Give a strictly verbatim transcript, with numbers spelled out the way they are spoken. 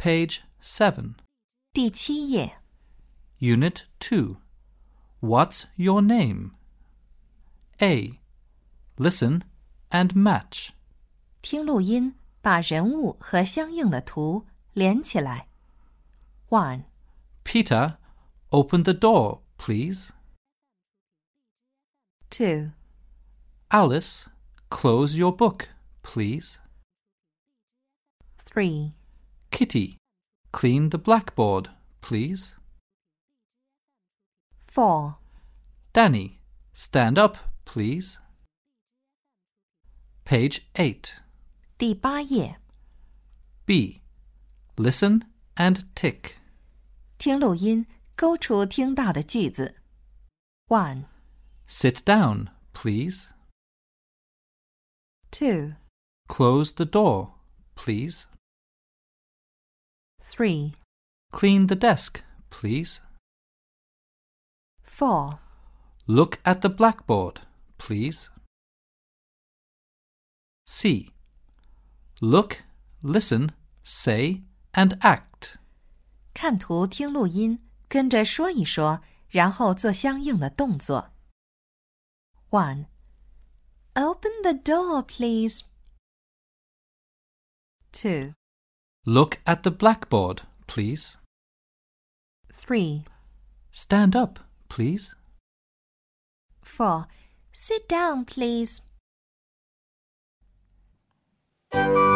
Page seven. 第七页 Unit two. What's your name? A. Listen and match. 听录音，把人物和相应的图连起来。one. Peter, open the door, please. two. Alice, close your book, please. three. Kitty, clean the blackboard, please. four. Danny, stand up, please. Page eight. 第八页 B. Listen and tick. 听录音，勾出听到的句子。one. Sit down, please. two. Close the door, please. three. Clean the desk, please. four. Look at the blackboard, please. C. Look, listen, say, and act. 看图听录音，跟着说一说，然后做相应的动作。one. Open the door, please. two. Look at the blackboard, please. three. Stand up, please. four. Sit down, please.